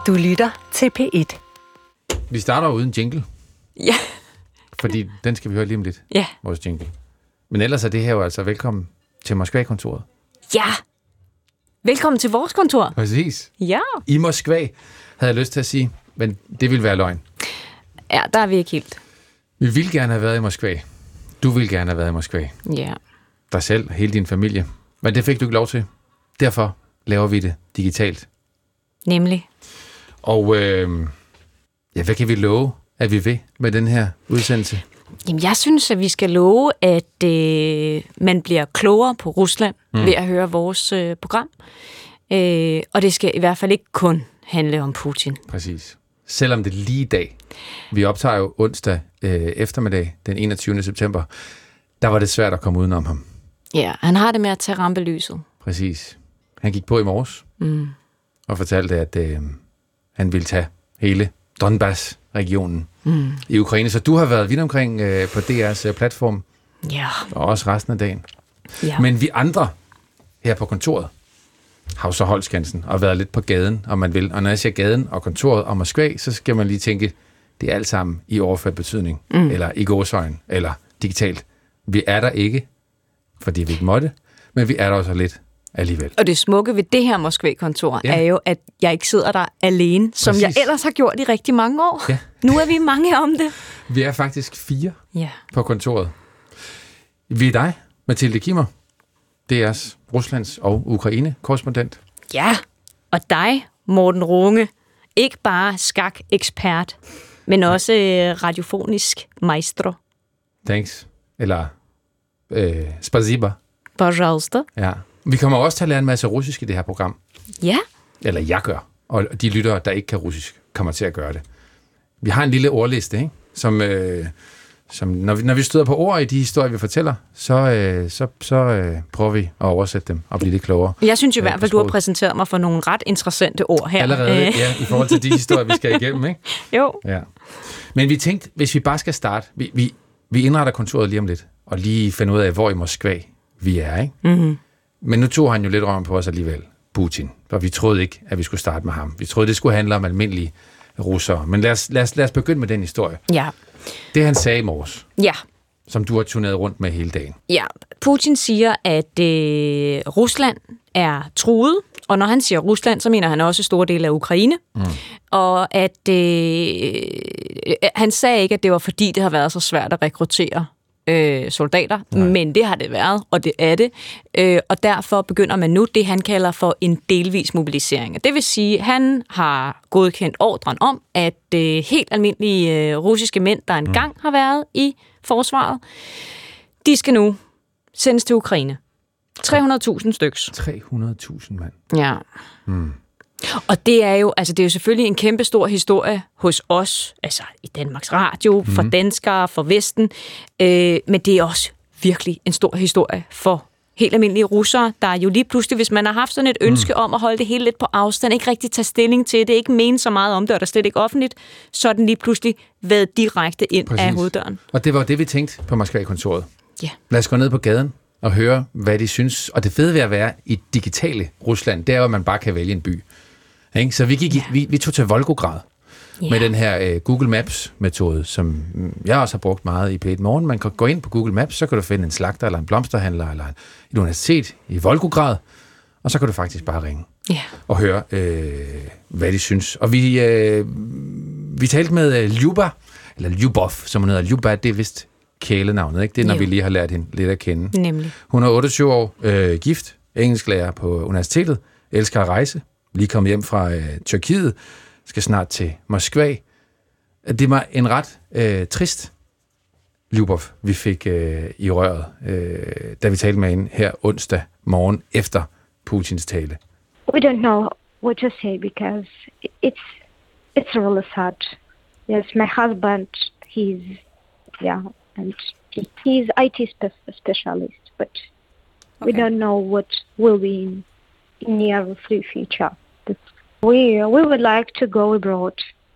Du lytter til P1. Vi starter uden jingle. Ja. Fordi den skal vi høre lige om lidt. Ja. Vores jingle. Men ellers er det her jo altså velkommen til Moskva-kontoret. Ja. Velkommen til vores kontor. Præcis. Ja. I Moskva, havde jeg lyst til at sige, men det ville være løgn. Ja, der er vi ikke helt. Vi ville gerne have været i Moskva. Du ville gerne have været i Moskva. Ja. Dig selv, hele din familie. Men det fik du ikke lov til. Derfor laver vi det digitalt. Nemlig. Og hvad kan vi love, at vi vil med den her udsendelse? Jamen, jeg synes, at vi skal love, at man bliver klogere på Rusland ved at høre vores program. Og det skal i hvert fald ikke kun handle om Putin. Præcis. Selvom det lige i dag, vi optager jo onsdag eftermiddag, den 21. september, der var det svært at komme udenom ham. Ja, han har det med at tage rampelyset. Præcis. Han gik på i morges og fortalte, at han ville tage hele Donbass-regionen i Ukraine. Så du har været vidt omkring på DR's platform, Ja. og også resten af dagen. Ja. Men vi andre her på kontoret har jo så holdt skansen og været lidt på gaden, om man vil. Og når jeg siger gaden og kontoret og Moskva, så skal man lige tænke, det er alt sammen i overført betydning, eller i gåseøjne, eller digitalt. Vi er der ikke, fordi vi ikke måtte, men vi er der også lidt alligevel. Og det smukke ved det her Moskva-kontor er jo, at jeg ikke sidder der alene, som Præcis. jeg ellers har gjort i rigtig mange år. Ja. Nu er vi mange om det. Vi er faktisk 4 Ja. på kontoret. Vi er dig, Mathilde Kimmer, DR's Ruslands og Ukraine-korrespondent. Ja, og dig, Morten Runge. Ikke bare skak-ekspert, men også radiofonisk maestro. Thanks. Eller spasiba. Pожалуйста. Ja. Vi kommer også til at lære en masse russisk i det her program. Ja. Eller jeg gør. Og de lyttere, der ikke kan russisk, kommer til at gøre det. Vi har en lille ordliste, ikke? Som når vi støder på ord i de historier, vi fortæller, så prøver vi at oversætte dem og blive lidt klogere. Jeg synes i hvert fald, du har præsenteret mig for nogle ret interessante ord her. Allerede, ja, i forhold til de historier, vi skal igennem, ikke? Jo. Ja. Men vi tænkte, hvis vi bare skal starte, vi indretter kontoret lige om lidt, og lige finde ud af, hvor i Moskva vi er, ikke? Mm-hmm. Men nu tog han jo lidt røven på os alligevel, Putin, for vi troede ikke, at vi skulle starte med ham. Vi troede, det skulle handle om almindelige russere. Men lad os begynde med den historie. Ja. Det han sagde i morges, Ja. som du har turneret rundt med hele dagen. Ja. Putin siger, at Rusland er truet, og når han siger Rusland, så mener han også store dele af Ukraine. Og at han sagde ikke, at det var fordi, det har været så svært at rekruttere soldater, men det har det været, og det er det. Og derfor begynder man nu det, han kalder for en delvis mobilisering. Det vil sige, at han har godkendt ordren om, at helt almindelige russiske mænd, der engang har været i forsvaret, de skal nu sendes til Ukraine. 300.000 styks. 300.000 mand. Ja. Og det er jo selvfølgelig en kæmpe stor historie hos os, altså i Danmarks Radio, for danskere, for Vesten, men det er også virkelig en stor historie for helt almindelige russere, der jo lige pludselig, hvis man har haft sådan et ønske om at holde det hele lidt på afstand, ikke rigtig tage stilling til det, ikke mene så meget om det, og der slet ikke offentligt, så er den lige pludselig været direkte ind af hoveddøren. Og det var det, vi tænkte på Moskva-kontoret. Ja. Lad os gå ned på gaden og høre, hvad de synes. Og det fede ved at være i digitale Rusland, det er jo, at man bare kan vælge en by. Ikke? Så vi tog til Volgograd med den her Google Maps-metode, som jeg også har brugt meget i P1 Morgen. Man kan gå ind på Google Maps, så kan du finde en slagter, eller en blomsterhandler, eller et universitet i Volgograd, og så kan du faktisk bare ringe og høre, hvad de synes. Og vi talte med Lyuba, eller Lyubov, som hun hedder. Lyuba, det er vist kælenavnet, ikke? Det er, når vi lige har lært hende lidt at kende. Nemlig. Hun er 28 år, gift, engelsklærer på universitetet, elsker at rejse, lige kommet hjem fra Tyrkiet, skal snart til Moskva. Det var en ret trist Lyubov, vi fik i røret, da vi talte med hende her onsdag morgen efter Putins tale. We don't know what to say because it's really sad. Yes, my husband, he's IT specialist, but we don't know what will be in near future. But we would like to go abroad.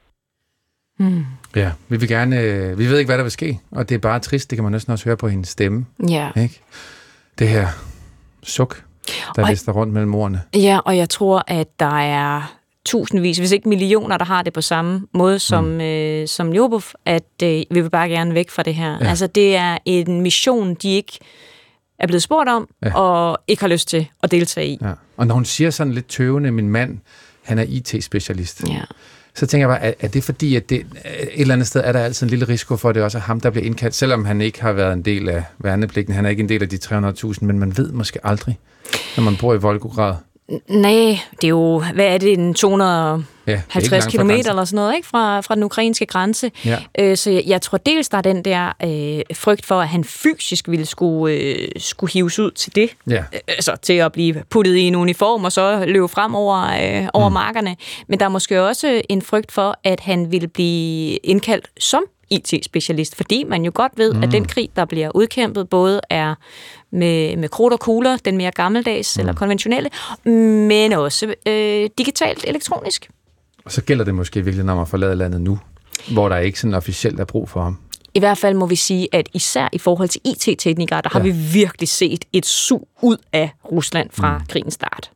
Ja, vi vil gerne, vi ved ikke, hvad der vil ske, og det er bare trist, det kan man næsten også høre på hendes stemme. Ja. Ikke? Det her suk, der lister rundt mellem ordene. Ja, og jeg tror, at der er tusindvis, hvis ikke millioner, der har det på samme måde som Lyubov, at vi vil bare gerne væk fra det her. Ja. Altså, det er en mission, de ikke er blevet spurgt om, og ikke har lyst til at deltage i. Ja. Og når hun siger sådan lidt tøvende, min mand, han er IT-specialist, så tænker jeg bare, er det fordi, at det, et eller andet sted er der altid en lille risiko for, at det også er ham, der bliver indkaldt, selvom han ikke har været en del af værnepligten. Han er ikke en del af de 300.000, men man ved måske aldrig, når man bor i Volgograd. Nej, det er jo, hvad er det, en 250 kilometer eller sådan noget, ikke? Fra den ukrainske grænse. Ja. Så jeg tror dels, der er den der frygt for, at han fysisk ville skulle hives ud til det. Ja. Altså til at blive puttet i en uniform og så løbe frem over markerne. Men der er måske også en frygt for, at han ville blive indkaldt som IT-specialist, fordi man jo godt ved, at den krig, der bliver udkæmpet, både er med krudt og kugler, den mere gammeldags eller konventionelle, men også digitalt, elektronisk. Og så gælder det måske virkelig, når man forlader landet nu, hvor der ikke sådan officielt er brug for ham. I hvert fald må vi sige, at især i forhold til IT-teknikere, der har vi virkelig set et sug ud af Rusland fra krigens start.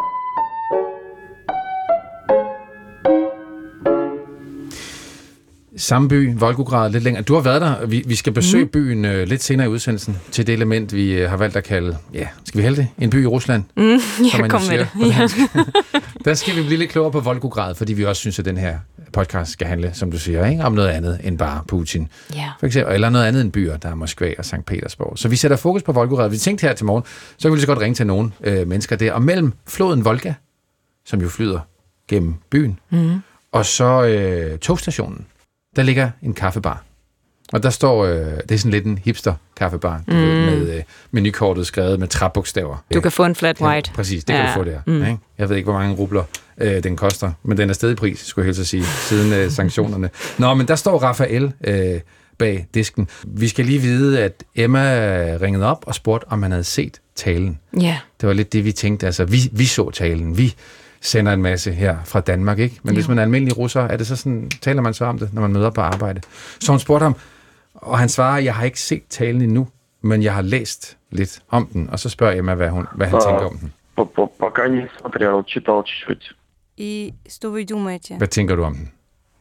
Samme by, Volgograd, lidt længere. Du har været der. Vi skal besøge byen lidt senere i udsendelsen til det element, vi har valgt at kalde, skal vi hælde det? En by i Rusland? Kom med det. Ja. Der skal vi blive lidt klogere på Volgograd, fordi vi også synes, at den her podcast skal handle, som du siger, ikke? Om noget andet end bare Putin. Yeah. For eksempel, eller noget andet end byer, der er Moskva og Sankt Petersborg. Så vi sætter fokus på Volgograd. Vi tænkte her til morgen, så kan vi lige så godt ringe til nogle mennesker der. Og mellem floden Volga, som jo flyder gennem byen, og så togstationen, der ligger en kaffebar. Og der står, det er sådan lidt en hipster-kaffebar, med menukortet skrevet med træbogstaver. Du kan få en flat white. Ja, præcis, det kan du få der. Ikke? Jeg ved ikke, hvor mange rubler den koster, men den er stadig i pris, skulle jeg helst sige, siden sanktionerne. Nå, men der står Rafael bag disken. Vi skal lige vide, at Emma ringede op og spurgte, om han havde set talen. Ja. Det var lidt det, vi tænkte. Altså, vi så talen. Vi sender en masse her fra Danmark, ikke? Men hvis man er almindelig russer, er det så sådan, taler man så om det, når man møder på arbejde. Så hun spurgte ham, og han svarer, jeg har ikke set talen endnu, men jeg har læst lidt om den. Og så spørger Emma, hvad han tænker om den. Пока не смотрел, читал чуть-чуть. И что вы думаете? Hvad tænker du om den?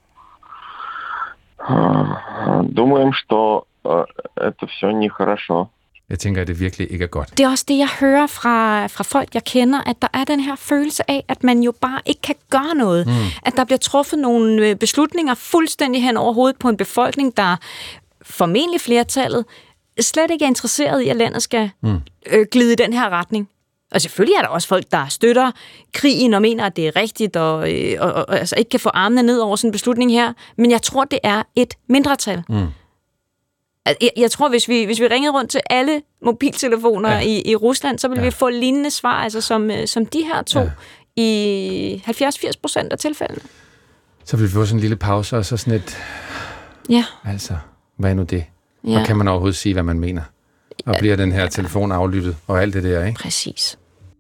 Думаем, что это все нехорошо. Jeg tænker, at det virkelig ikke er godt. Det er også det, jeg hører fra folk, jeg kender, at der er den her følelse af, at man jo bare ikke kan gøre noget. At der bliver truffet nogle beslutninger fuldstændig hen over hovedet på en befolkning, der formentlig flertallet slet ikke er interesseret i, at landet skal glide i den her retning. Og selvfølgelig er der også folk, der støtter krigen og mener, at det er rigtigt, og altså ikke kan få armene ned over sådan en beslutning her. Men jeg tror, det er et mindretal. Jeg tror, hvis vi ringede rundt til alle mobiltelefoner i Rusland, så ville vi få lignende svar, altså som de her to i 70-80% af tilfældene. Så vil vi få sådan en lille pause, og så sådan et... Ja. Altså, hvad er nu det? Ja. Og kan man overhovedet sige, hvad man mener? Og bliver den her telefon aflyttet, og alt det der, ikke? Præcis.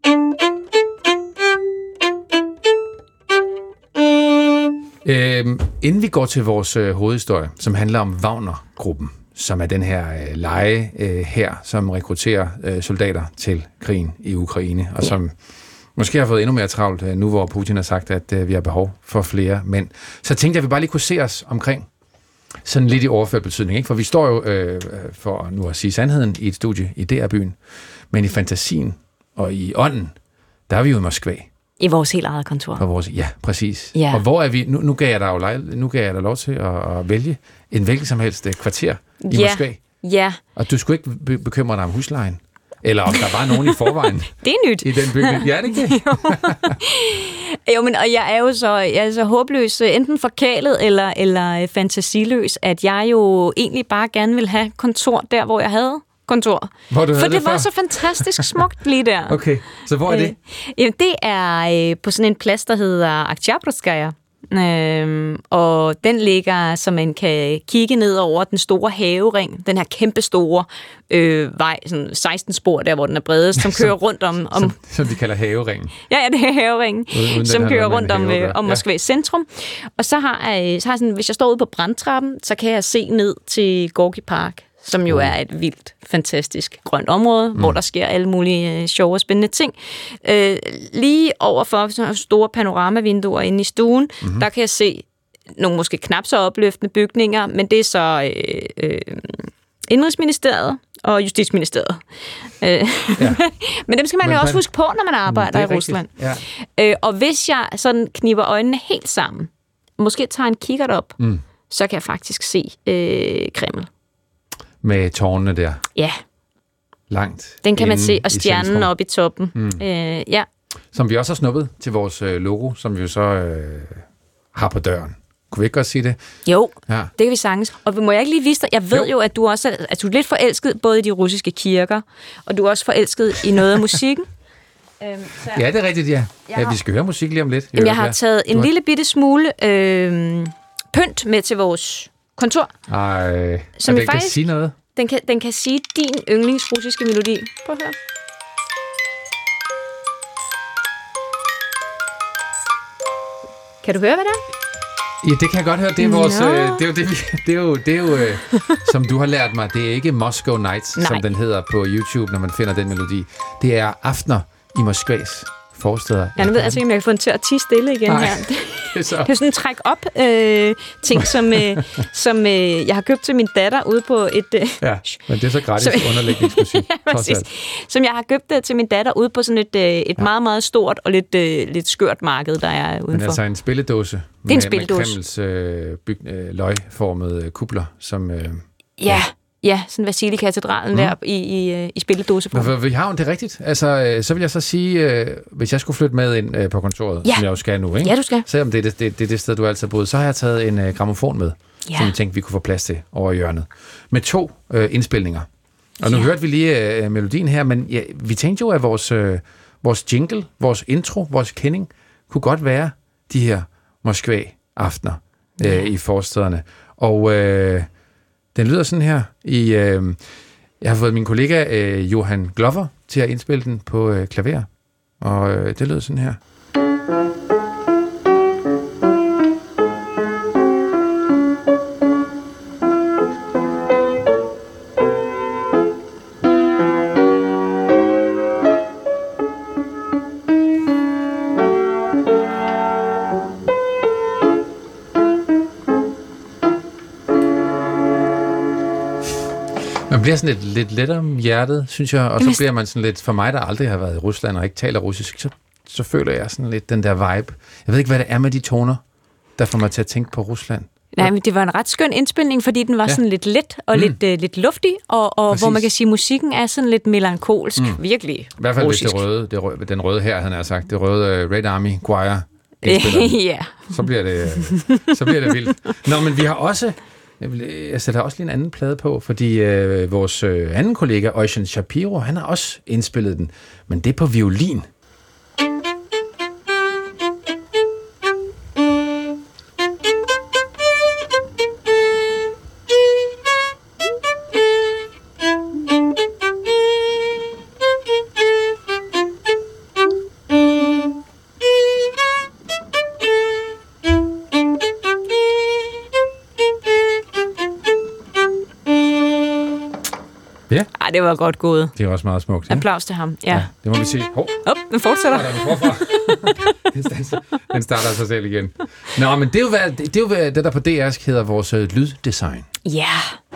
Inden vi går til vores hovedhistorie, som handler om Wagner-gruppen, som er den her leje her, som rekrutterer soldater til krigen i Ukraine, og som måske har fået endnu mere travlt nu, hvor Putin har sagt, at vi har behov for flere mænd. Så tænkte jeg, at vi bare lige kunne se os omkring sådan lidt i overført betydning, ikke? For vi står jo, for nu at sige sandheden, i et studie i DR-byen, men i fantasien og i ånden, der er vi jo i Moskva. I vores helt eget kontor. Ja, præcis. Ja. Og hvor er vi? Nu gav jeg dig lov til at vælge en hvilket som helst kvarter i Moskva. Ja. Og du skulle ikke bekymre dig om huslejen. Eller om der var nogen i forvejen. Det er nyt. I den bygning. Ja, er det ikke det? Jo, men og jeg er jo så håbløs, enten forkælet eller fantasiløs, at jeg jo egentlig bare gerne vil have kontor der, hvor jeg havde kontor. Hvor du havde det var så fantastisk smukt lige der. Okay, så hvor er det? Jamen, det er på sådan en plads, der hedder Oktyabrskaya. Og den ligger, så man kan kigge ned over den store havering, den her kæmpe store vej, sådan 16 spor der, hvor den er bredest, som kører rundt om... Som de kalder haveringen. Ja, det er haveringen, som kører rundt om Moskva centrum. Og så har jeg sådan, hvis jeg står ude på brandtrappen, så kan jeg se ned til Gorky Park, som jo er et vildt, fantastisk grønt område, hvor der sker alle mulige sjove og spændende ting. Lige overfor sådan store panoramavinduer inde i stuen, der kan jeg se nogle måske knap så opløftende bygninger, men det er så Indrigsministeriet og Justitsministeriet. Men dem skal man jo også huske på, når man arbejder i Rusland. Ja. Og hvis jeg sådan kniber øjnene helt sammen, måske tager en kikkert op, så kan jeg faktisk se Kreml. Med tårnene der. Ja. Langt. Den kan man se, og stjernen oppe i toppen. Ja. Som vi også har snuppet til vores logo, som vi jo så har på døren. Kunne vi ikke godt sige det? Jo, det kan vi sagtens. Og må jeg ikke lige vise dig, jeg ved jo, at du også er lidt forelsket både i de russiske kirker, og du er også forelsket i noget af musikken. Ja, det er rigtigt, ja. Vi skal høre musik lige om lidt. Jeg har taget en lille bitte smule pynt med til vores kontor. Som den faktisk, kan sige noget? Den kan sige din yndlingsrussiske melodi. Prøv at høre. Kan du høre, hvad det er? Ja, det kan jeg godt høre. Det er vores, det er jo som du har lært mig, det er ikke Moscow Nights, som den hedder på YouTube, når man finder den melodi. Det er Aftener i Moskvas forsteder. Ja, nu ved jeg altså ikke, om jeg kan få den til at tie stille igen her. Det er sådan en træk-op-ting, som jeg har købt til min datter ude på et... men det er så gratis underlægningsmusik. Som jeg har købt til min datter ude på sådan et meget, meget stort og lidt skørt marked, der er udenfor. Men altså en spilledåse. Det er en spilledåse. Med Kremls løgformede kupler, som... Ja, sådan Vasilikatedralen der i spilledåseform. Vi har jo det rigtigt. Altså, så vil jeg så sige, hvis jeg skulle flytte med ind på kontoret, som jeg jo skal nu, ikke? Ja, du skal. Selvom det er det sted, du altid har boet, så har jeg taget en grammofon med, som jeg tænkte, vi kunne få plads til over hjørnet. Med 2 indspilninger. Og nu hørte vi lige melodien her, men vi tænkte jo, at vores jingle, vores intro, vores kending, kunne godt være de her Moskva-aftener i forstederne. Og... den lyder sådan her. Jeg har fået min kollega Johan Glover til at indspille den på klaver. Og det lyder sådan her. Man bliver sådan lidt let om hjertet, synes jeg, og så bliver man sådan lidt, for mig, der aldrig har været i Rusland og ikke taler russisk, så føler jeg sådan lidt den der vibe. Jeg ved ikke, hvad det er med de toner, der får mig til at tænke på Rusland. Nej, men det var en ret skøn indspilning, fordi den var sådan lidt let og lidt luftig, og hvor man kan sige, at musikken er sådan lidt melankolsk, virkelig i hvert fald russisk. Hvis den røde her, han har sagt, det røde Red Army Choir, så bliver det vildt. Nå, men vi har også... Jeg sætter også lige en anden plade på, fordi vores anden kollega, Ocean Shapiro, han har også indspillet den, men det er på violin. Det var godt gået. Det er også meget smukt. Ja? Applaus til ham. Ja, det må vi sige. Den fortsætter. Den starter sig selv igen. Nå, men det er jo det der på DR's hedder vores lyddesign. Ja.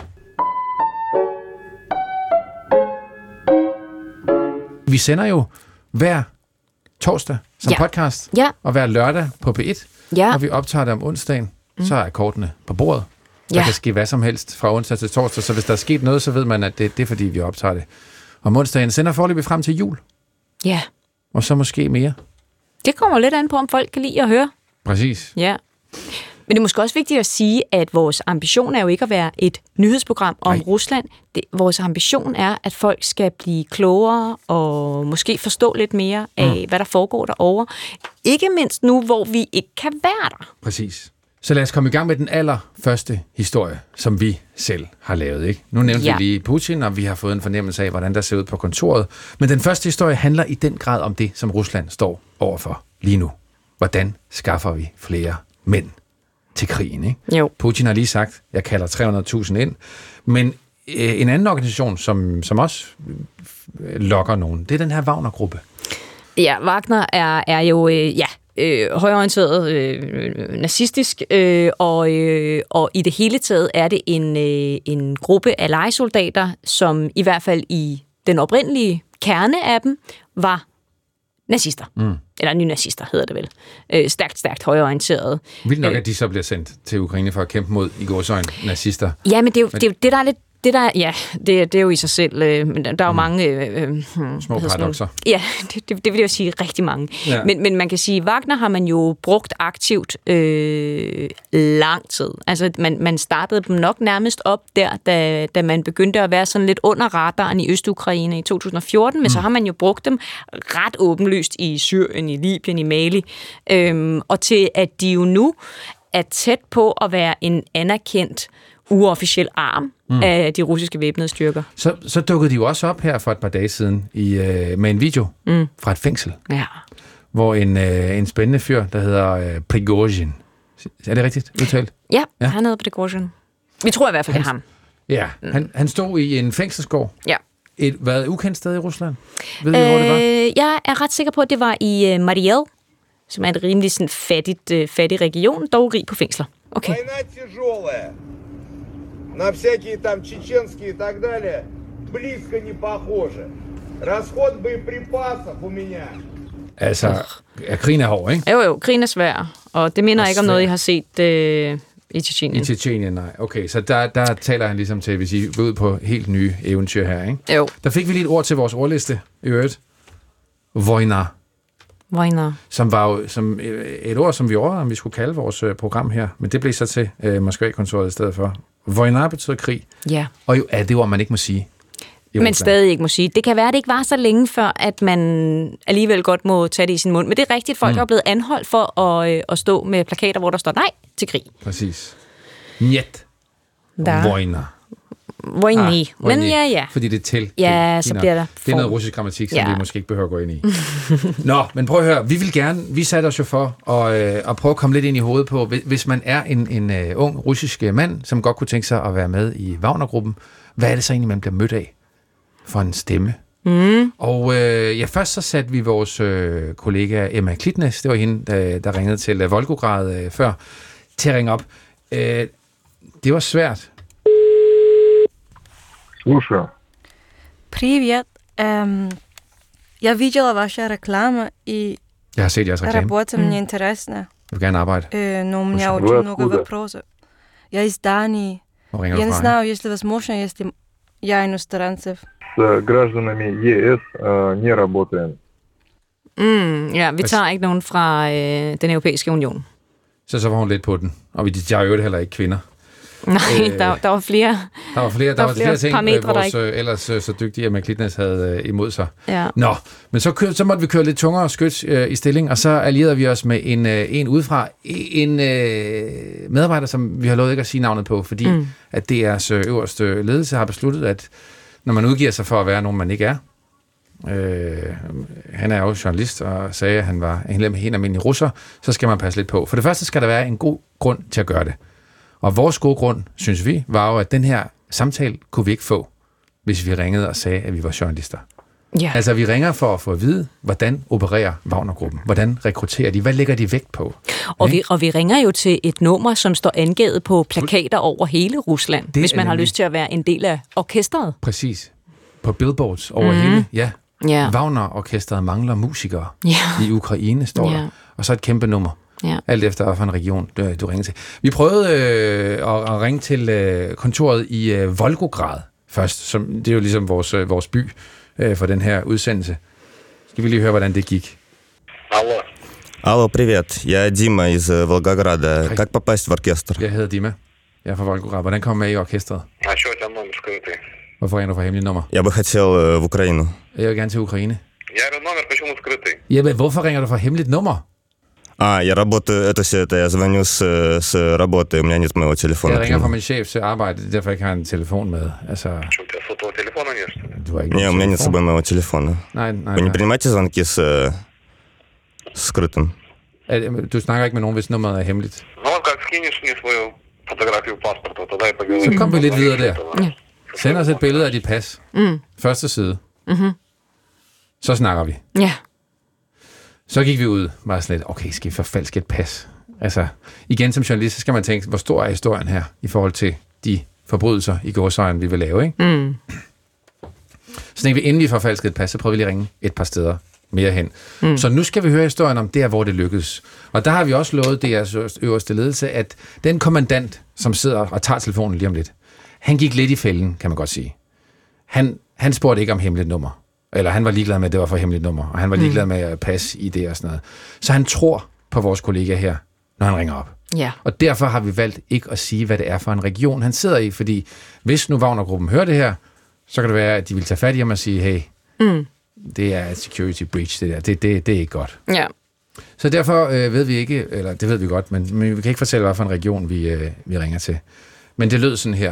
Vi sender jo hver torsdag som podcast, og hver lørdag på P1, og vi optager det om onsdagen, så er kortene på bordet. Der kan ske hvad som helst fra onsdag til torsdag, så hvis der er sket noget, så ved man, at det er fordi, vi optager det. Om onsdagen sender foreløbig frem til jul. Ja. Og så måske mere. Det kommer lidt an på, om folk kan lide at høre. Præcis. Ja. Men det er måske også vigtigt at sige, at vores ambition er jo ikke at være et nyhedsprogram om Rusland. Vores ambition er, at folk skal blive klogere og måske forstå lidt mere af, hvad der foregår derovre. Ikke mindst nu, hvor vi ikke kan være der. Præcis. Så lad os komme i gang med den allerførste historie, som vi selv har lavet. Ikke? Nu nævnte vi lige Putin, og vi har fået en fornemmelse af, hvordan der ser ud på kontoret. Men den første historie handler i den grad om det, som Rusland står overfor lige nu. Hvordan skaffer vi flere mænd til krigen? Ikke? Jo. Putin har lige sagt, jeg kalder 300.000 ind. Men en anden organisation, som også lokker nogen, det er den her Wagner-gruppe. Ja, Wagner er jo højreorienteret, nazistisk, og i det hele taget er det en gruppe af lejesoldater, som i hvert fald i den oprindelige kerne af dem var nazister. Eller nynazister hedder det vel. Stærkt højreorienteret. Vildt nok, at de så bliver sendt til Ukraine for at kæmpe mod i gåseøjne nazister. Ja, men det er jo det, der er lidt... Det er jo i sig selv, men der er jo mange... små paradokser. Ja, det vil jeg jo sige rigtig mange. Ja. Men man kan sige, Wagner har man jo brugt aktivt lang tid. Altså, man startede dem nok nærmest op der, da man begyndte at være sådan lidt under radaren i Østukraine i 2014, men så har man jo brugt dem ret åbenlyst i Syrien, i Libyen, i Mali, og til at de jo nu er tæt på at være en anerkendt uofficiel arm af de russiske væbnede styrker. Så dukkede de jo også op her for et par dage siden med en video fra et fængsel, hvor en spændende fyr, der hedder Prigozhin. Er det rigtigt udtalt? Ja, han hedder Prigozhin. Vi tror i hvert fald, det er ham. Ja, han stod i en fængselsgård. Ja. Et ukendt sted i Rusland? Ved du, hvor det var? Jeg er ret sikker på, at det var i Mariel, som er en rimelig sådan fattig region, dog rig på fængsler. Okay. На всякие там чеченские и так далее, близко не похоже. Расход боеприпасов у меня. Altså, krigen er hård, ikke? Jo, krigen er svær, og det minder ikke om noget, I har set i Tjetjenien. I Tjetjenien, nej. Okay, så der taler han ligesom til, hvis I vil ud på helt nye eventyr her, ikke? Jo. Der fik vi lige et ord til vores ordliste, i øvrigt. Vojna. Som var jo som et ord, som vi overvejede, om vi skulle kalde vores program her, men det blev så til Moskva-kontoret i stedet for. Vojna betyder krig, og jo er det ord, man ikke må sige. Men stadig ikke må sige. Det kan være, at det ikke var så længe før, at man alligevel godt må tage det i sin mund. Men det er rigtigt, at folk er blevet anholdt for at stå med plakater, hvor der står nej til krig. Præcis. Njet. Vojna. Vojni. Men ja. Fordi det er til. Ja, så bliver der det er noget russisk grammatik, som vi måske ikke behøver at gå ind i. Nå, men prøv at høre. Vi satte os jo for at prøve at komme lidt ind i hovedet på, hvis man er en ung russisk mand, som godt kunne tænke sig at være med i Wagner-gruppen, hvad er det så egentlig, man bliver mødt af for en stemme? Og først så satte vi vores kollega Emma Klitnes, det var hende, der ringede til Volgograd før, til at ringe op. Det var svært. Слушаю. Привет. Я видела ваши рекламы, и jeg har set jeres reklame. Работа мне интересна. Jeg vil gerne arbejde. Но у меня очень много вопросов. Я из Дании. Я не знаю, если возможно, если я иностранцев. С гражданами ЕС не работаем. Ja, vi tager ikke nogen fra den europæiske union. Så var hun lidt på den. Og vi er jo heller ikke kvinder. Nej, der var flere. Der var flere ting, vores ellers så dygtige Emma Klitnes havde imod sig. Ja. Nå, men så måtte vi køre lidt tungere skyts i stilling, og så allierede vi os med en udefra. En medarbejder, som vi har lovet ikke at sige navnet på, fordi at DR's øverste ledelse har besluttet, at når man udgiver sig for at være nogen, man ikke er, han er jo journalist og sagde, at han var en almindelig russer, så skal man passe lidt på. For det første skal der være en god grund til at gøre det. Og vores gode grund, synes vi, var jo, at den her samtale kunne vi ikke få, hvis vi ringede og sagde, at vi var journalister. Ja. Altså, vi ringer for at få at vide, hvordan opererer Wagner-gruppen? Hvordan rekrutterer de? Hvad lægger de vægt på? Og vi ringer jo til et nummer, som står angivet på plakater over hele Rusland, hvis man har lyst til at være en del af orkestret. Præcis. På billboards over hele, ja. Wagner-orkestret mangler musikere i Ukraine, står der. Og så et kæmpe nummer. Ja. Alt efter, hvilken region du ringer til. Vi prøvede at ringe til kontoret i Volgograd først. Det er jo ligesom vores by for den her udsendelse. Skal vi lige høre, hvordan det gik? Алло, привет. Я Дима из Волгограда. Как попасть в оркестр? Jeg hedder Dima. Jeg er fra Volgograd. Hvordan kommer jeg med i orkestret? А что у тебя номер скрытый? Hvorfor ringer du fra hemmeligt nummer? Я бы хотел в Украину. Jeg vil gerne til Ukraine. Я говорю, номер почему скрытый? Ja, men hvorfor ringer du fra hemmeligt nummer? Я работаю, я звоню с работы, у меня нет моего телефона. Jeg ringer fra min chef til arbejde, det er derfor, jeg ikke har en telefon med. Altså... Что, у тебя сотового телефона нет, что ли? Du har ikke Не, у меня нет с собой моего телефона. Nej. Вы не принимаете звонки с скрытым? Du snakker ikke med nogen, hvis nummeret er hemmeligt? Ну вот как скинешь мне свою фотографию паспорта, тогда и поговорим. Så kom vi lidt videre der. Send os et billede af dit pas. Første side. Så snakker vi. Ja. Så gik vi ud, var sådan lidt, okay, skal vi forfalske et pas? Altså, igen som journalist, så skal man tænke, hvor stor er historien her, i forhold til de forbrydelser i gåseøjne, vi vil lave, ikke? Så tænkte vi, inden vi forfalskede et pas, så prøvede vi lige at ringe et par steder mere hen. Så nu skal vi høre historien om der, hvor det lykkedes. Og der har vi også lovet DR's øverste ledelse, at den kommandant, som sidder og tager telefonen lige om lidt, han gik lidt i fælden, kan man godt sige. Han spurgte ikke om hemmeligt nummer. Eller han var ligeglad med, at det var for hemmeligt nummer. Og han var ligeglad med at passe i det og sådan noget. Så han tror på vores kollega her, når han ringer op. Ja. Og derfor har vi valgt ikke at sige, hvad det er for en region, han sidder i. Fordi hvis nu Wagner-gruppen hører det her, så kan det være, at de vil tage fat i ham og sige, hey, det er et security breach, det der. Det er ikke godt. Ja. Så derfor ved vi ikke, eller det ved vi godt, men vi kan ikke fortælle, hvad for en region vi ringer til. Men det lød sådan her.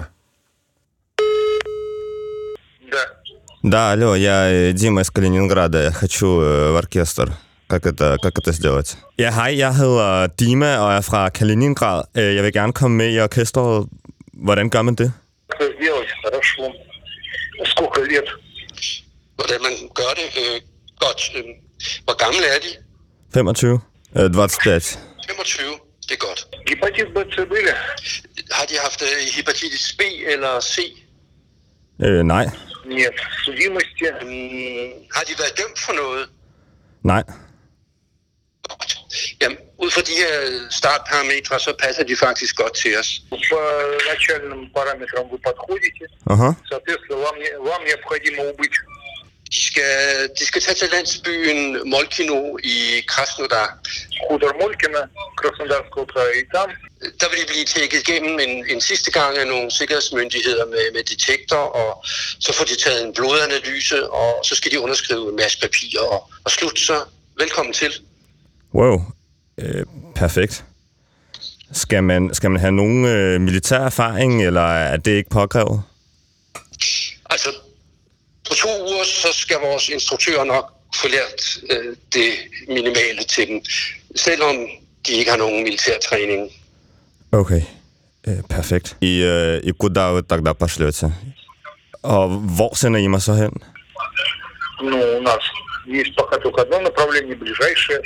Да, алло, я Дима из Калининграда. Я хочу в оркестр. Как это сделать? Ja, hej, jeg hedder Dima og er fra Kaliningrad. Jeg vil gerne komme med i orkestret. Hvordan gør man det? Сделать, хорошо. Сколько лет? Hvordan man gør det? Godt. Hvor gamle er de? 25. 25. 25, det er godt. Hepatitis B, C были? Har de haft hepatitis B eller C? Nej. Нет. Судимости? Har de været dømt for noget? Nej. Godt. Jamen, ud fra de her startparametre, så passer de faktisk godt til os. По начальным параметрам вы подходите. Соответственно, вам необходимо убыть. De skal tage til landsbyen Molkino i Krasnodar. Хутор Молькино, Краснодарского края, и там. Der vil de blive tjekket igennem en sidste gang af nogle sikkerhedsmyndigheder med detektor, og så får de taget en blodanalyse, og så skal de underskrive en masse papirer, og slut, så velkommen til. Wow, perfekt. Skal man have nogen militær erfaring, eller er det ikke påkrævet? Altså, på 2 uger, så skal vores instruktører nok få lært det minimale til dem, selvom de ikke har nogen militær træning. Okay, perfekt. I куда вы тогда пошлете? Og hvor sender I mig så hen? Ну, у нас есть пока только одно направление, ближайшее.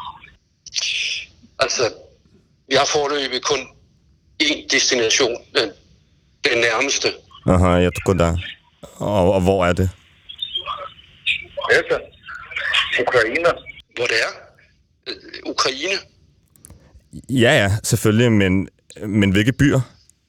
Altså, vi har foreløbig kun én destination, den nærmeste. Aha, jeg tror da. Og hvor er det? Это Ukraine. Hvor det er? Ukraine? Ja, selvfølgelig, men hvilke byer?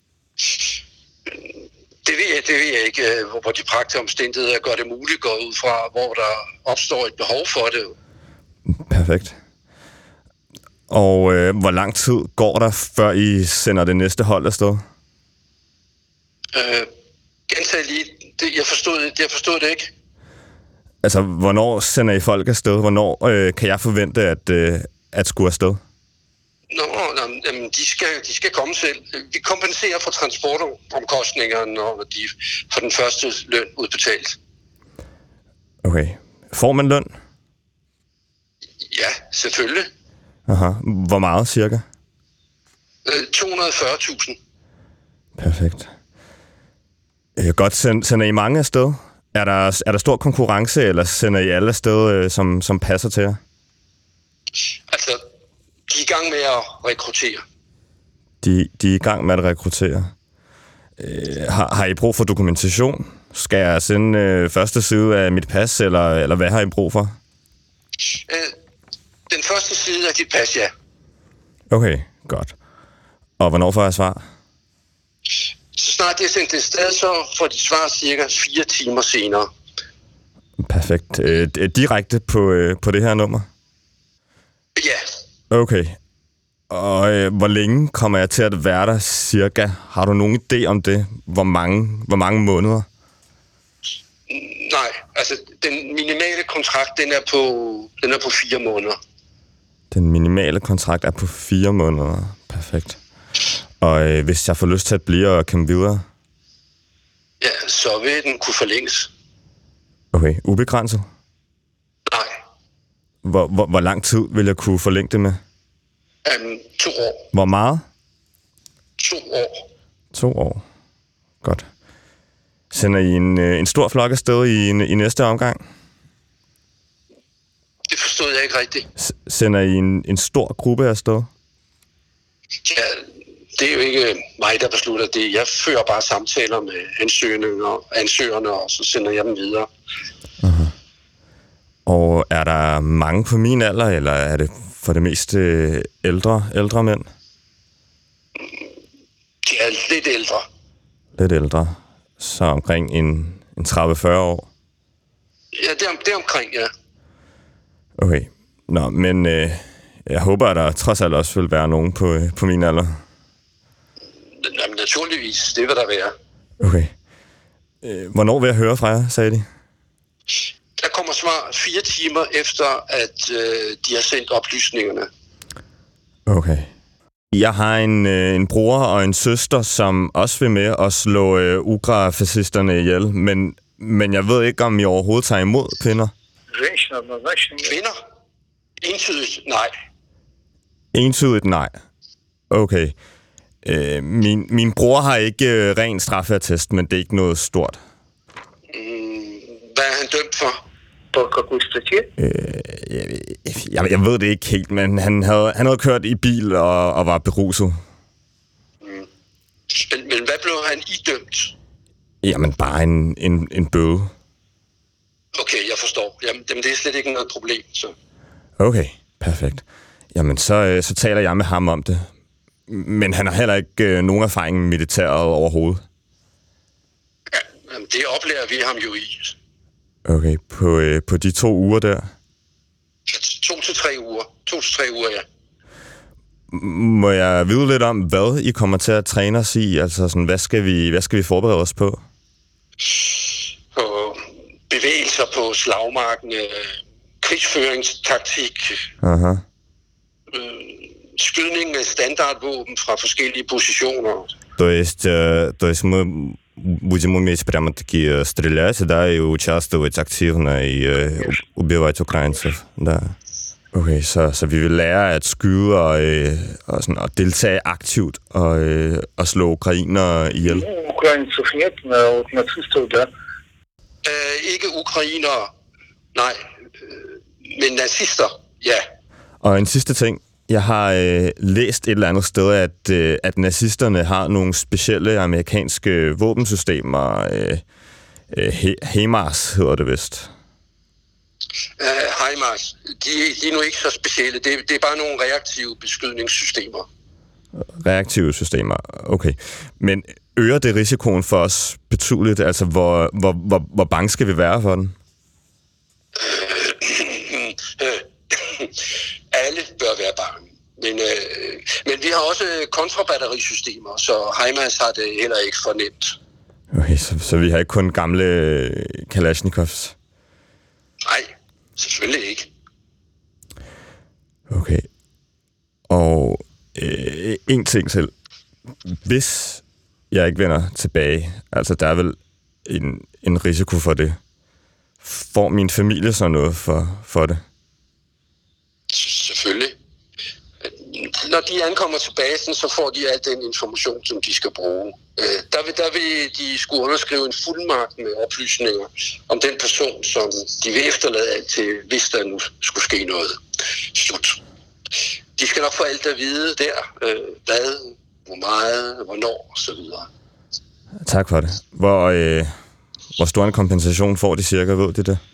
Det ved jeg ikke, hvor de praktiske omstændigheder gør det muligt, går ud fra, hvor der opstår et behov for det. Perfekt. Og hvor lang tid går der, før I sender det næste hold afsted? Gentag lige. Jeg forstod det ikke. Altså, hvornår sender I folk afsted? Hvornår kan jeg forvente at skulle afsted? De skal komme selv. Vi kompenserer for transportomkostningerne, når de får den første løn udbetalt. Okay. Får man løn? Ja, selvfølgelig. Aha. Hvor meget cirka? 240.000. Perfekt. Godt. Sender I mange afsted? Er der stor konkurrence, eller sender I alle afsted, som passer til jer? Altså, de er i gang med at rekruttere. De er i gang med at rekruttere. Har I brug for dokumentation? Skal jeg sende første side af mit pas, eller hvad har I brug for? Den første side af dit pas, ja. Okay, godt. Og hvornår får jeg svar? Så snart det er sendt et sted, så får de svar cirka 4 timer senere. Perfekt. Direkte på det her nummer? Ja. Okay. Og hvor længe kommer jeg til at være der cirka? Har du nogen idé om det? Hvor mange måneder? Nej, altså den minimale kontrakt, den er på 4 måneder. Den minimale kontrakt er på 4 måneder. Perfekt. Og hvis jeg får lyst til at blive og komme videre? Ja, så vil den kunne forlænges. Okay, ubegrænset? Nej. Hvor lang tid vil jeg kunne forlænge det med? 2 år. Hvor meget? 2 år. 2 år. Godt. Sender I en stor flok afsted i næste omgang? Det forstod jeg ikke rigtigt. Sender I en stor gruppe afsted? Ja, det er jo ikke mig, der beslutter det. Jeg fører bare samtaler med ansøgerne, og så sender jeg dem videre. Uh-huh. Og er der mange på min alder, eller er det for det meste ældre mænd? De er lidt ældre. Lidt ældre. Så omkring en 30-40 år? Ja, det er omkring, ja. Okay. Nå, men jeg håber, at der trods alt også vil være nogen på min alder. Jamen, naturligvis. Det vil der være. Okay. Hvornår vil jeg høre fra jer, sagde de? Der kommer svar 4 timer efter, at de har sendt oplysningerne. Okay. Jeg har en bror og en søster, som også vil med at slå UGRA-fascisterne ihjel, men jeg ved ikke, om I overhovedet tager imod kvinder. Kvinder? Entydigt nej. Entydigt nej. Okay. Min bror har ikke ren straffeattest, men det er ikke noget stort. Hvad er han dømt for? Jeg ved det ikke helt, men han havde kørt i bil og var beruset. Men hvad blev han idømt? Jamen, bare en bøde. Okay, jeg forstår. Jamen, det er slet ikke noget problem, så. Okay, perfekt. Jamen, så taler jeg med ham om det. Men han har heller ikke nogen erfaring med militæret overhovedet. Ja, jamen, det oplærer vi ham jo i. Okay, på de 2 uger der? 2 til 3 uger. 2 til 3 uger, ja. Må jeg vide lidt om, hvad I kommer til at træne os i? Altså, sådan, hvad skal vi forberede os på? På bevægelser på slagmarken, krigsføringstaktik, skydning med standardvåben fra forskellige positioner. То есть мы будем уметь прямо-таки стрелять, да, и участвовать активно, и убивать украинцев, да. Okay, så vi vil lære at skyde og sådan, at deltage aktivt og slå ukrainere ihjel. Ukrainцев нет, но нацистов, да. Ikke ukrainere, nej, men nazister, ja. Og en sidste ting. Jeg har læst et eller andet sted, at nazisterne har nogle specielle amerikanske våbensystemer. HIMARS hedder det vist. HIMARS, de er nu ikke så specielle. Det er bare nogle reaktive beskydningssystemer. Reaktive systemer, okay. Men øger det risikoen for os betydeligt? Altså, hvor bange skal vi være for den? Alle bør være bange. Men vi har også kontrabatterisystemer, så HIMARS har det heller ikke fornemt. Okay, så vi har ikke kun gamle Kalashnikovs? Nej, selvfølgelig ikke. Okay. Og en ting selv. Hvis jeg ikke vender tilbage, altså der er vel en risiko for det. Får min familie så noget for det? Selvfølgelig. Når de ankommer til basen, så får de al den information, som de skal bruge. Der vil de skulle underskrive en fuldmagt med oplysninger om den person, som de vil efterlade alt til, hvis der nu skulle ske noget. Slut. De skal nok få alt at vide der. Hvad, hvor meget, hvornår osv. Tak for det. Hvor stor en kompensation får de cirka, ved de det?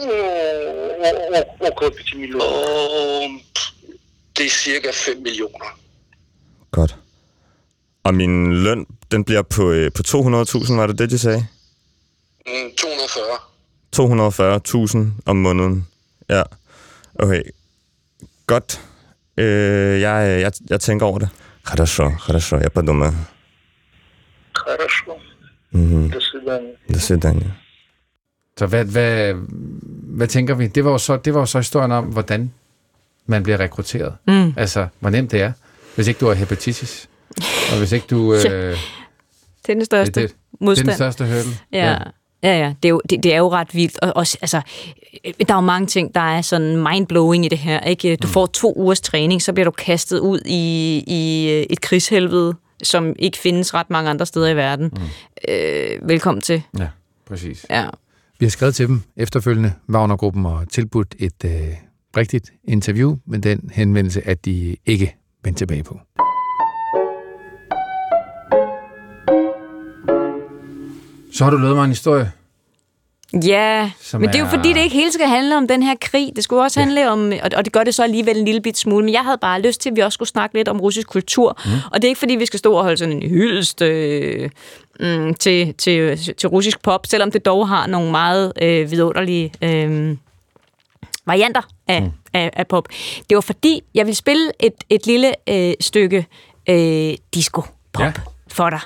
Det er cirka 5 millioner. Godt. Og min løn, den bliver på 200.000, var det det, de sagde? 240. 240.000 om måneden. Ja. Okay. Godt. Jeg tænker over det. Хорошо, я подумаю. Хорошо. До свидания. До свидания. Så hvad tænker vi? Det var jo så historien om, hvordan man bliver rekrutteret. Altså, hvor nemt det er, hvis ikke du har hepatitis. Og hvis ikke du... Det er den største modstand. Det er den største hurdle. Ja. Det er jo ret vildt. Og også, altså, der er jo mange ting, der er sådan mindblowing i det her. Ikke? Du får 2 ugers træning, så bliver du kastet ud i et krigshelvede, som ikke findes ret mange andre steder i verden. Velkommen til. Ja, præcis. Ja. Vi har skrevet til dem efterfølgende, Wagner-gruppen, og tilbudt et rigtigt interview, men den henvendelse, at de ikke vendte tilbage på. Så har du lavet mig en historie. Ja, men det er jo fordi, det ikke hele skal handle om den her krig. Det skulle også handle om, og det gør det så alligevel en lille bit smule, men jeg havde bare lyst til, at vi også skulle snakke lidt om russisk kultur. Og det er ikke fordi, vi skal stå og holde sådan en hyldest til russisk pop, selvom det dog har nogle meget vidunderlige varianter af pop. Det var fordi, jeg ville spille et lille stykke disco-pop for dig.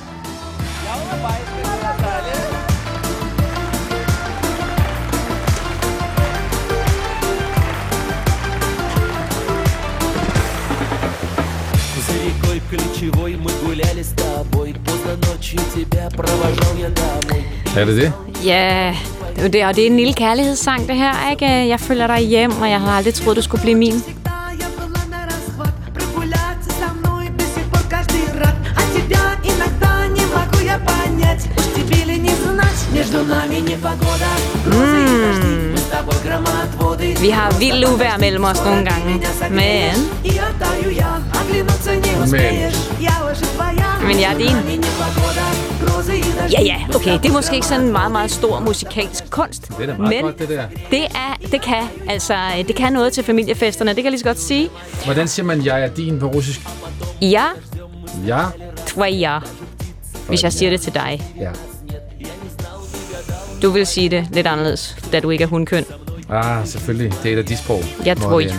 Er det det? Ja, det er en lille kærlighedssang, det her, ikke? Jeg følger dig hjem, og jeg havde aldrig troet, du skulle blive min. Vi har vildt uvejr mellem os nogle gange, men jeg er din. Ja, okay, det er måske ikke sådan en meget, meget stor musikalsk kunst. Det er da meget godt, det der. Det kan noget til familiefesterne, det kan jeg lige så godt sige. Hvordan siger man, jeg er din på russisk? Ja. Ja. Tvoja. Hvis jeg siger det til dig. Ja. Du vil sige det lidt anderledes, da du ikke er hundkøn. Selvfølgelig. Det er et af de sprog, jeg tror ikke.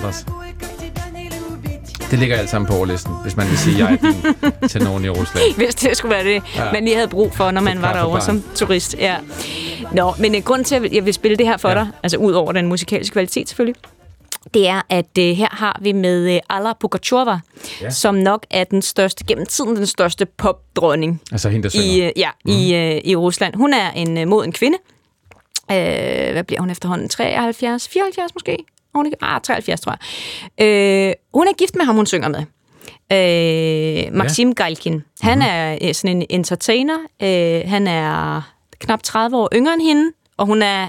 Det ligger alt sammen på overlisten, hvis man vil sige, jeg er din til nogen i Rusland. Hvis det skulle være det, man lige havde brug for, når man var derovre som turist. Ja. Nå, men grund til, at jeg vil spille det her for dig, altså ud over den musikalske kvalitet selvfølgelig, det er, at her har vi med Alla Pugacheva, som nok er den største, gennem tiden den største popdronning. Altså hende, der synger. I Rusland. Hun er en moden kvinde. Hvad bliver hun efterhånden? 73? 74 måske? 73 tror jeg. Hun er gift med ham, hun synger med. Maxim Galkin. Han er sådan en entertainer. Han er knap 30 år yngre end hende, og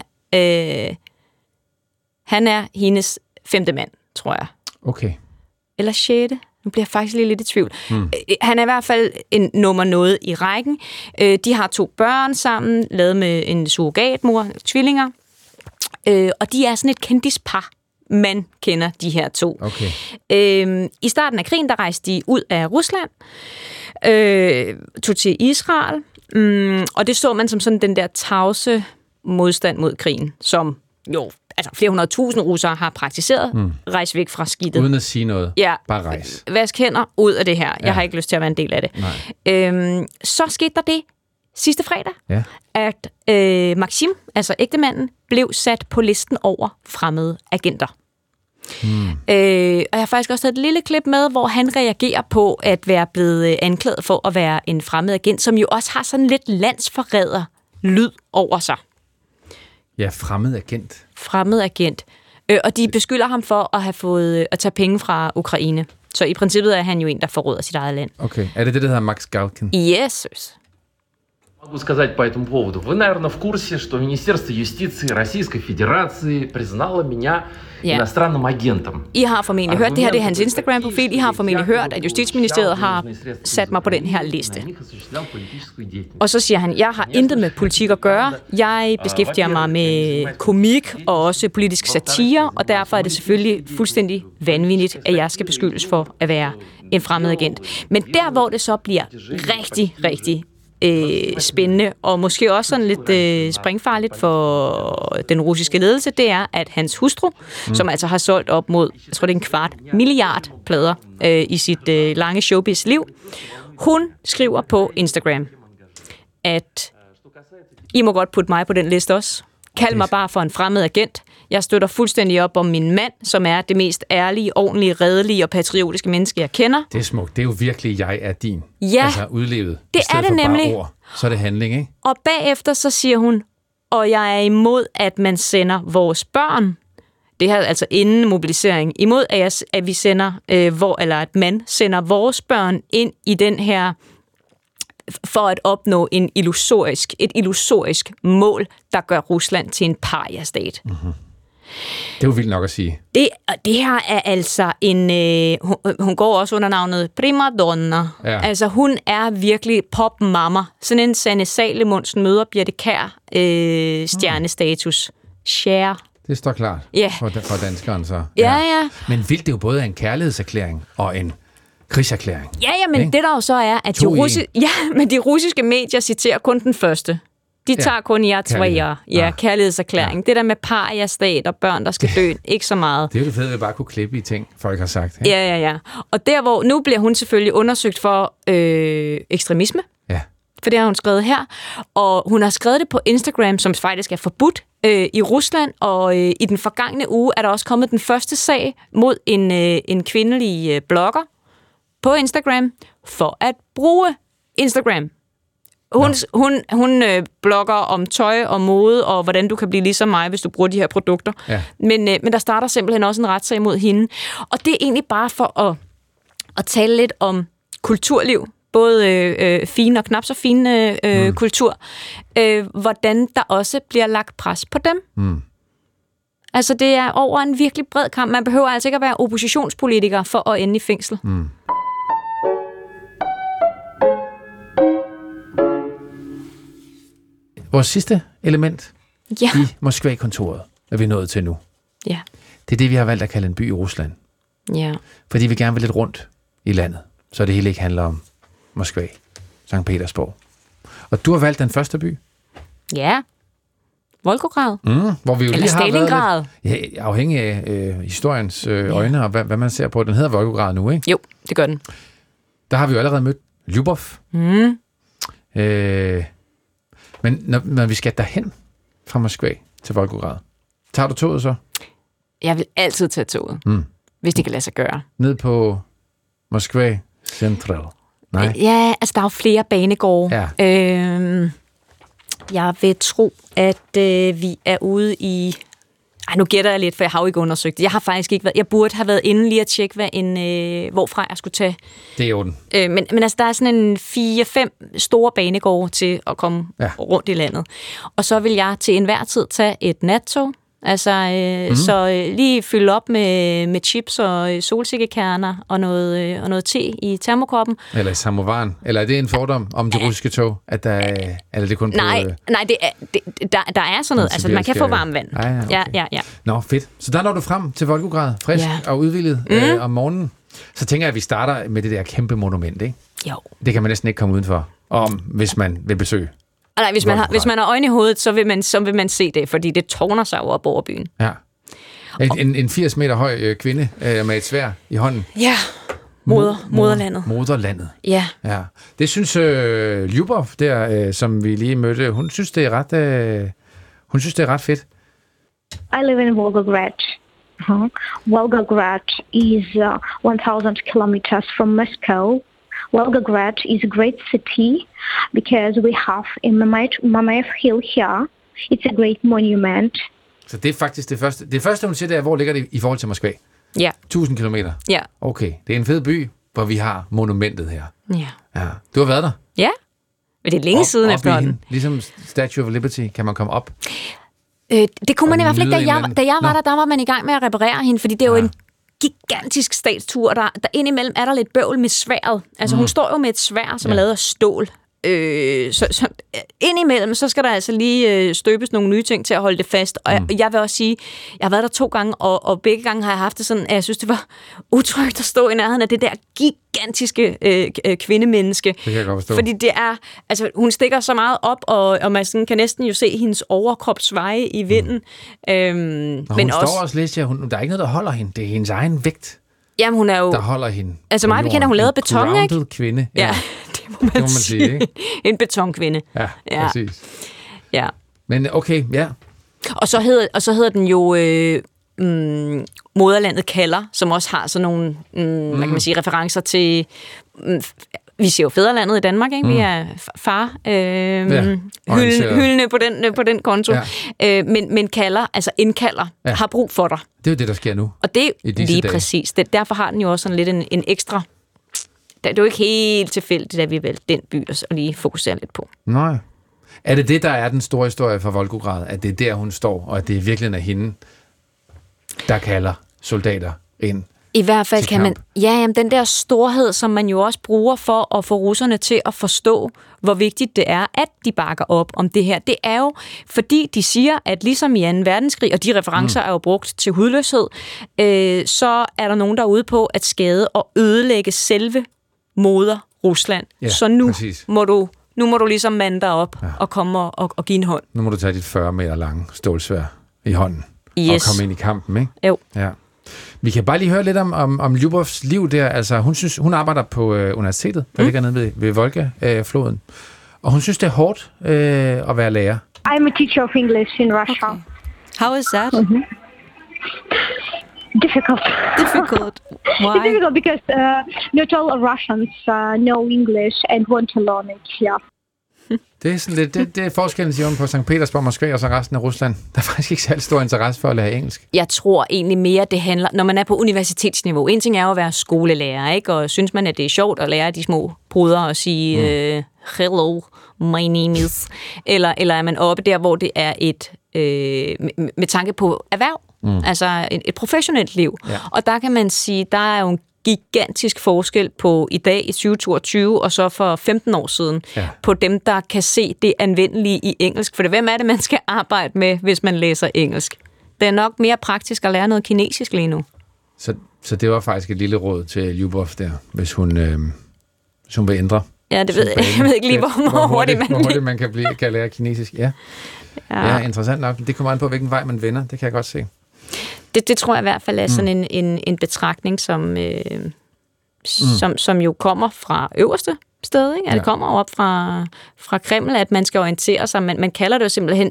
han er hendes 5. mand, tror jeg. Okay. Eller 6. Nu bliver jeg faktisk lidt i tvivl. Han er i hvert fald en nummer noget i rækken. De har 2 børn sammen, lavet med en surrogatmor, tvillinger. Og de er sådan et kendispar. Man kender de her 2. Okay. I starten af krigen, der rejste de ud af Rusland, tog til Israel, og det så man som sådan den der tavse modstand mod krigen, som jo, altså flere 100.000 russere har praktiseret. Rejs væk fra skidtet. Uden at sige noget. Ja. Bare rejs. Vask hænder ud af det her. Jeg har ikke lyst til at være en del af det. Så skete der det sidste fredag, at Maxim, altså ægtemanden, blev sat på listen over fremmede agenter. Og jeg har faktisk også taget et lille klip med, hvor han reagerer på at være blevet anklaget for at være en fremmed agent, som jo også har sådan lidt landsforræder lyd over sig. Ja, fremmed agent. Fremmed agent. Og de beskylder ham for at have fået at tage penge fra Ukraine. Så i princippet er han jo en, der forråder sit eget land. Okay. Er det det, der hedder Max Galkin? Yes. Могу сказать по этому поводу. Вы, наверное, в курсе, что Министерство юстиции Российской Федерации признало меня иностранным агентом. I har formentlig hørt, det her det er hans Instagram-profil, I har formentlig hørt, at Justitsministeriet har sat mig på den her liste. Og så siger han, jeg har intet med politik at gøre. Jeg beskæftiger mig med komik og også politisk satire, og derfor er det selvfølgelig fuldstændig vanvittigt, at jeg skal beskyldes for at være en fremmed agent. Men der, hvor det så bliver rigtig, rigtig spændende, og måske også sådan lidt springfarligt for den russiske ledelse, det er, at hans hustru, som altså har solgt op mod, jeg tror det er 250 milliarder plader i sit lange showbiz-liv, hun skriver på Instagram, at I må godt putte mig på den liste også. Kald mig bare for en fremmed agent. Jeg støtter fuldstændig op om min mand, som er det mest ærlige, ordentlige, redelige og patriotiske menneske, jeg kender. Det er smukt. Det er jo virkelig, jeg er din. Ja, altså udlevet. det er det nemlig. Ord, så er det handling, ikke? Og bagefter så siger hun, og jeg er imod, at man sender vores børn det her altså inden mobilisering, imod at vi sender, at man sender vores børn ind i den her, for at opnå et illusorisk mål, der gør Rusland til en paria-stat. Mm-hmm. Det er jo vildt nok at sige. Det her er altså en... hun går også under navnet primadonna. Ja. Altså, hun er virkelig popmamma. Sådan en Sanne Salomonsen møder Birthe Kjær stjernestatus. Share. Det står klart for danskeren så. Ja. Men vildt, det er jo både en kærlighedserklæring og en krigserklæring. Ja, men det der jo så er, at de russiske medier citerer kun den første. De tager kun kærlighedserklæring. Det der med paria-stat og børn, der skal dø, ikke så meget. Det er jo det fede, at vi bare kunne klippe i ting, folk har sagt. Ikke? Ja. Og der, hvor nu bliver hun selvfølgelig undersøgt for ekstremisme. Ja. For det har hun skrevet her. Og hun har skrevet det på Instagram, som faktisk er forbudt i Rusland. Og i den forgangne uge er der også kommet den første sag mod en kvindelig blogger på Instagram for at bruge Instagram. Hun blogger om tøj og mode, og hvordan du kan blive ligesom mig, hvis du bruger de her produkter. Ja. Men der starter simpelthen også en retssag mod hende. Og det er egentlig bare for at tale lidt om kulturliv. Både fine og knap så fine kultur. Hvordan der også bliver lagt pres på dem. Mm. Altså, det er over en virkelig bred kamp. Man behøver altså ikke at være oppositionspolitiker for at ende i fængsel. Mm. Vores sidste element i Moskva-kontoret er vi nået til nu. Ja. Det er det, vi har valgt at kalde en by i Rusland. Ja. Fordi vi gerne vil lidt rundt i landet, så det hele ikke handler om Moskva, Sankt Petersborg. Og du har valgt den første by. Ja. Volgograd. Hvor vi jo eller lige Stalingrad. Har været lidt, afhængig af historiens øjne og hvad man ser på. Den hedder Volgograd nu, ikke? Jo, det gør den. Der har vi jo allerede mødt Lyubov. Mm. Men når vi skal derhen fra Moskva til Volgograd, tager du toget så? Jeg vil altid tage toget, hvis det kan lade sig gøre. Ned på Moskva Central? Nej. Ja, altså der er jo flere banegårde. Ja. Jeg vil tro, at vi er ude i... nu gætter jeg lidt, for jeg har jo ikke undersøgt det. Jeg har faktisk ikke været... Jeg burde have været inde lige at tjekke, hvorfra jeg skulle tage. Det er jo den. Men altså, der er sådan en 4-5 store banegårde til at komme rundt i landet. Og så vil jeg til enhver tid tage et nattog. Altså, så lige fylde op med chips og solsikkekerner og noget te i termokoppen. Eller i samovaren. Eller er det en fordom om de russiske tog? At der, eller det kun nej, der er sådan noget. Altså, man kan få varmt vand. Okay. Ja. Nå, fedt. Så der når du frem til Volgograd, frisk og udvildet om morgenen. Så tænker jeg, at vi starter med det der kæmpe monument, ikke? Jo. Det kan man næsten ikke komme udenfor, hvis man vil besøge. Nej, hvis man har øjne i hovedet, så vil man se det, fordi det tårner sig op over byen. Ja. En 80 meter høj kvinde med et sværd i hånden. Ja, moderlandet. Moderlandet. Ja. Det synes Lyubov, der, som vi lige mødte, hun synes, det er ret fedt. I live in Volgograd. Volgograd is 1,000 kilometers from Moscow. Volgograd is a great city because we have a Mamayev Hill here. It's a great monument. Så det er faktisk det første. Det første, hun siger, det er, hvor ligger det i forhold til Moskva? Ja. 1000 kilometer? Ja. Okay, det er en fed by, hvor vi har monumentet her. Ja. Du har været der? Ja, men det er længe siden efterhånden. Ligesom Statue of Liberty, kan man komme op? Det kunne man i hvert fald ikke, da jeg var der var man i gang med at reparere hende, fordi det er jo en gigantisk statstur, der indimellem er der lidt bøvl med sværdet. Altså hun står jo med et sværd, som er lavet af stål. Så indimellem, så skal der altså lige støbes nogle nye ting til at holde det fast. Og jeg vil også sige, jeg har været der 2 gange, og begge gange har jeg haft det sådan, at jeg synes, det var utrygt at stå i nærheden af det der gigantiske kvindemenneske. Det kan jeg godt forstå. Fordi det er, altså hun stikker så meget op, og man sådan kan næsten jo se hendes overkrop sveje i vinden. Men hun står også lidt, der er ikke noget, der holder hende. Det er hendes egen vægt. Jamen, hun er jo... Der holder hende. Altså mig bekendt, hun lavet beton, ikke? En kvinde. Ja, det må man sige. Ikke? En betonkvinde. Ja, præcis. Ja. Men okay, ja. Og så hedder den jo Moderlandet kalder, som også har sådan nogle, hvad kan man sige, referencer til vi siger jo fædrelandet i Danmark, ikke? Vi er far hyldende på den konto. Ja. Men indkalder, har brug for dig. Det er jo det, der sker nu. Og det er lige dage. Præcis. Derfor har den jo også sådan lidt en ekstra... Det er jo ikke helt tilfældigt, at vi valgte den by og lige fokuserer lidt på. Nej. Er det, der er den store historie for Volgograd? At det er der, hun står, og at det virkelig er hende, der kalder soldater ind? I hvert fald kan man... Ja, den der storhed, som man jo også bruger for at få russerne til at forstå, hvor vigtigt det er, at de bakker op om det her. Det er jo, fordi de siger, at ligesom i 2. verdenskrig, og de referencer er jo brugt til hudløshed, så er der nogen, der er ude på at skade og ødelægge selve moder Rusland. Ja, så nu må du ligesom mande dig op og komme og give en hånd. Nu må du tage dit 40 meter lange stålsværd i hånden og komme ind i kampen, ikke? Jo. Ja. Vi kan bare lige høre lidt om Lyubovs liv der. Altså, hun arbejder på universitetet, der ligger nede ved Volga-floden. Og hun synes, det er hårdt at være lærer. I'm a teacher of English in Russia. Okay. How is that? Difficult. Why? It's difficult because not all Russians know English and want to learn it. Yeah. Det er sådan lidt, det er forskellen, siger hun, på St. Petersborg, Moskva og så resten af Rusland. Der er faktisk ikke særlig stor interesse for at lære engelsk. Jeg tror egentlig mere, det handler, når man er på universitetsniveau. En ting er jo at være skolelærer, ikke? Og synes man, at det er sjovt at lære de små brødre og sige, hello, my name is. Eller er man oppe der, hvor det er et, med tanke på erhverv, altså et professionelt liv. Ja. Og der kan man sige, der er jo en gigantisk forskel på i dag i 2022 og så for 15 år siden på dem, der kan se det anvendelige i engelsk. For hvem er det, man skal arbejde med, hvis man læser engelsk? Det er nok mere praktisk at lære noget kinesisk lige nu. Så det var faktisk et lille råd til Lyubov der, hvis hun vil ændre. Ja, det ved jeg. Jeg ved ikke lige, hvor hurtigt man kan lære kinesisk. Ja, interessant nok. Det kommer an på, hvilken vej man vender. Det kan jeg godt se. Det tror jeg i hvert fald er sådan en betragtning, som jo kommer fra øverste sted, ikke? Ja. Det kommer op fra Kreml, at man skal orientere sig. Man kalder det jo simpelthen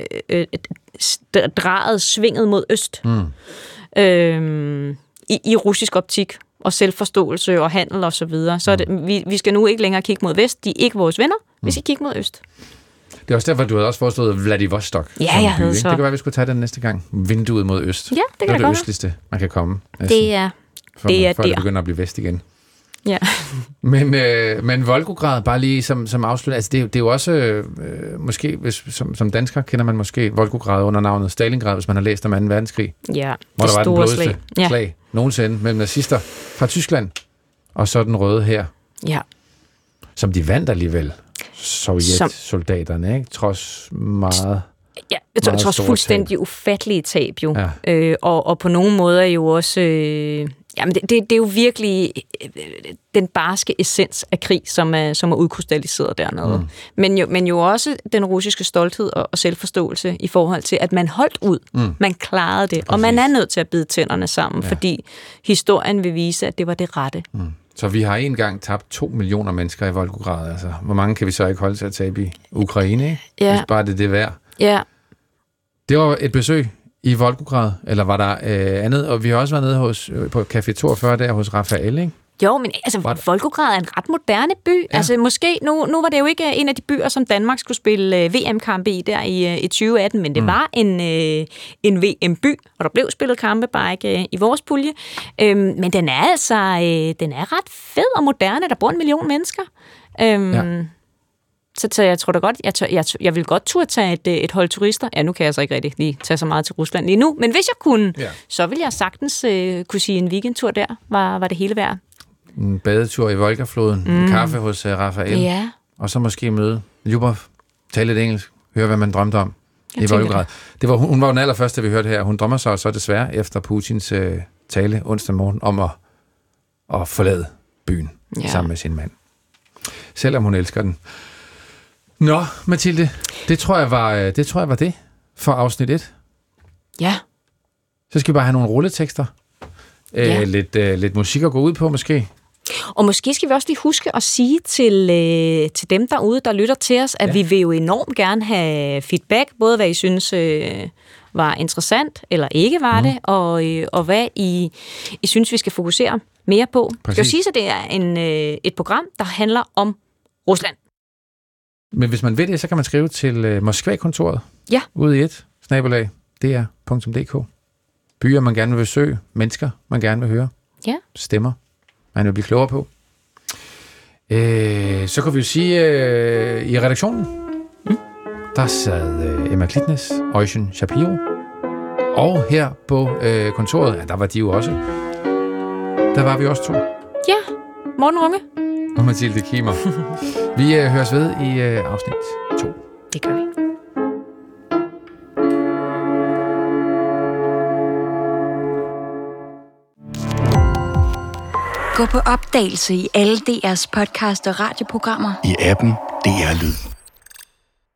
drejet svinget mod øst i russisk optik og selvforståelse og handel og så videre. Så vi skal nu ikke længere kigge mod vest. De er ikke vores venner. Vi skal kigge mod øst. Det er også derfor, du havde også foreslået Vladivostok. Ja, jeg havde så. Det kan være, vi skulle tage den næste gang. Vinduet mod øst. Ja, det kan det østligste, man kan komme. Det er før det begynder at blive vest igen. Ja. Men Volgograd, bare lige som afslut, altså det er jo også, måske, som dansker kender man måske Volgograd under navnet Stalingrad, hvis man har læst om 2. verdenskrig. Ja, hvor der var den blodigste slag nogensinde mellem nazister fra Tyskland og så den røde her. Ja. Som de vandt alligevel. Sovjetsoldaterne, ikke? Trods meget... Ja, trods fuldstændig ufattelige tab jo. Ja. Og på nogle måder jo også... Jamen det er jo virkelig den barske essens af krig, som er udkrystalliseret dernede. Men jo også den russiske stolthed og selvforståelse i forhold til, at man holdt ud. Man klarede det. Præcis. Og man er nødt til at bide tænderne sammen, fordi historien vil vise, at det var det rette. Så vi har en gang tabt 2 millioner mennesker i Volgograd. Altså, hvor mange kan vi så ikke holde til at tabe i Ukraine, ikke? Ja. Hvis bare det er værd. Ja. Det var et besøg i Volgograd, eller var der andet? Og vi har også været nede på Café 42 der hos Rafael, ikke? Jo, men altså, Volgograd er en ret moderne by. Ja. Altså, måske, nu var det jo ikke en af de byer, som Danmark skulle spille VM-kampe i der i 2018, men det var en VM-by, og der blev spillet kampe, bare ikke i vores pulje. Men den er altså ret fed og moderne. Der bor 1 million mennesker. Så jeg tror da godt, jeg vil godt turde tage et hold turister. Ja, nu kan jeg så ikke rigtig lige tage så meget til Rusland lige nu, men hvis jeg kunne, så ville jeg sagtens kunne sige en weekendtur der, var det hele værd. En badetur i Volgafloden, en kaffe hos Rafael, og så måske møde Lyubov, tale lidt engelsk, høre hvad man drømte om i Volgograd. Hun var den allerførste, vi hørte her. Hun drømmer sig så desværre efter Putins tale onsdag morgen om at forlade byen sammen med sin mand. Selvom hun elsker den. Nå, Mathilde, det tror jeg var det for afsnit 1. Ja. Så skal vi bare have nogle rulletekster. Lidt musik at gå ud på, måske. Og måske skal vi også lige huske at sige til dem derude, der lytter til os, at vi vil jo enormt gerne have feedback, både hvad I synes var interessant, eller ikke var det, og hvad I synes, vi skal fokusere mere på. Præcis. Det skal jo sige, at det er et program, der handler om Rusland. Men hvis man vil det, så kan man skrive til Moskva-kontoret. Ja. Ude i et /dr.dk. Byer, man gerne vil besøge. Mennesker, man gerne vil høre. Ja. Stemmer, man vil blive klogere på. Så kan vi jo sige, i redaktionen, der sad Emma Klitnes, Ocean Shapiro. Og her på kontoret, der var de jo også. Der var vi også 2. Ja, Morten Runge. Og Mathilde Kimmer. Vi høres ved i afsnit 2. Det gør vi. Gå på opdagelse i alle DR's podcast og radioprogrammer. I appen DR Lyd.